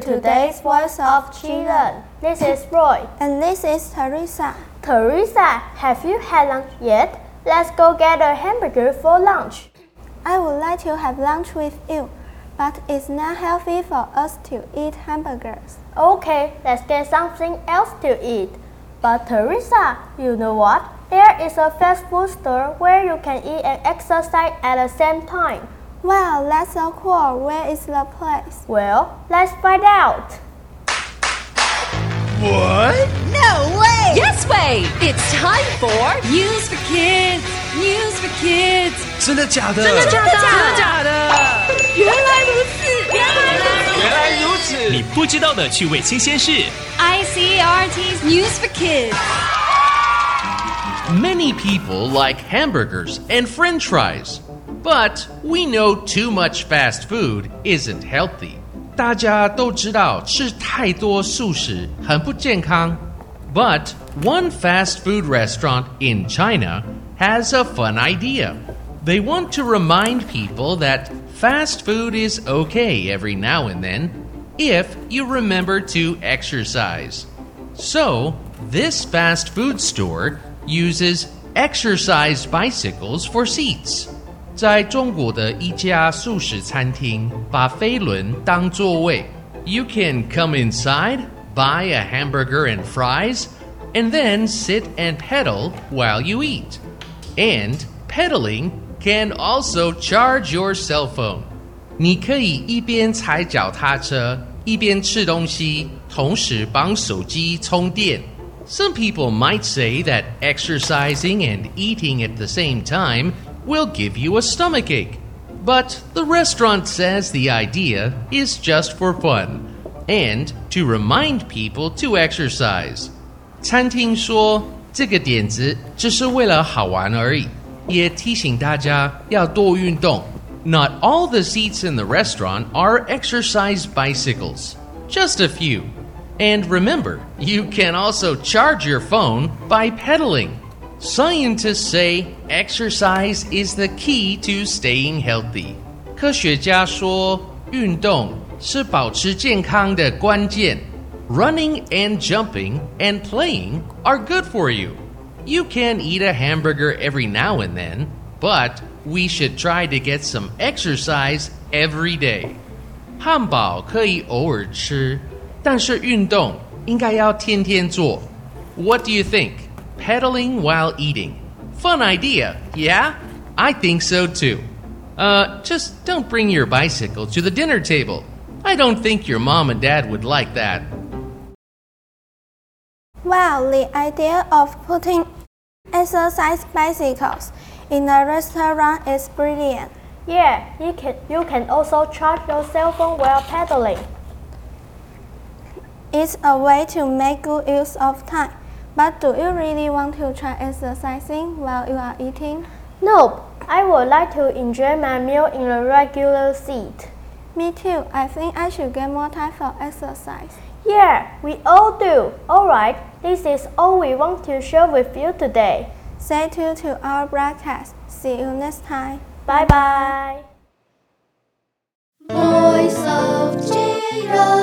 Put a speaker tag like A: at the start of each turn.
A: today's Voice of Children.
B: This is Roy.
A: And this is Teresa.
B: Teresa, have you had lunch yet? Let's go get a hamburger for lunch.
A: I would like to have lunch with you, but it's not healthy for us to eat hamburgers.
B: Okay, let's get something else to eat. But Teresa, you know what? There is a fast food store where you can eat and exercise at the same time.
A: Wow, that's so cool. Where is the place?
B: Well, let's find out.
C: What?
D: No way!
E: Yes way! It's time for News for Kids! News for Kids!
C: 真的假的？
E: 真的假的？
C: 真的假的？
E: 原来如此！
C: 原来如此！
F: 你不知道的趣味新鲜事。
E: ICRT's News for Kids.
G: Many people like hamburgers and French fries, but we know too much fast food isn't healthy. 大家都知道吃太多素食很不健康。But one fast food restaurant in China has a fun idea. They want to remind people that fast food is okay every now and then if you remember to exercise. So, this fast food store uses exercise bicycles for seats. 在中国的一家素食餐厅把飞轮当座位。You can come inside, buy a hamburger and fries, and then sit and pedal while you eat. And pedaling can also charge your cell phone. 你可以一边踩脚踏車，一边吃東西，同時幫手機充電。Some people might say that exercising and eating at the same time will give you a stomachache. But the restaurant says the idea is just for fun and to remind people to exercise. 餐廳說這個點子只是為了好玩而已，也提醒大家要多運動。Not all the seats in the restaurant are exercise bicycles, just a few. And remember, you can also charge your phone by pedaling. Scientists say exercise is the key to staying healthy. 科學家說，運動是保持健康的關鍵。Running and jumping and playing are good for you. You can eat a hamburger every now and then, but we should try to get some exercise every day. 漢堡可以偶爾吃，但是運動應該要天天做。What do you think? Pedaling while eating. Fun idea, yeah? I think so too. Just don't bring your bicycle to the dinner table. I don't think your mom and dad would like that.
A: Wow, the idea of putting exercise bicycles in a restaurant is brilliant.
B: Yeah, you can also charge your cell phone while pedaling.
A: It's a way to make good use of time. But do you really want to try exercising while you are eating?
B: Nope, I would like to enjoy my meal in a regular seat.
A: Me too. I think I should get more time for exercise.
B: Yeah, we all do. Alright, this is all we want to share with you today.
A: Stay tuned to our broadcast. See you next time.
B: Bye bye.
D: Voice of Children.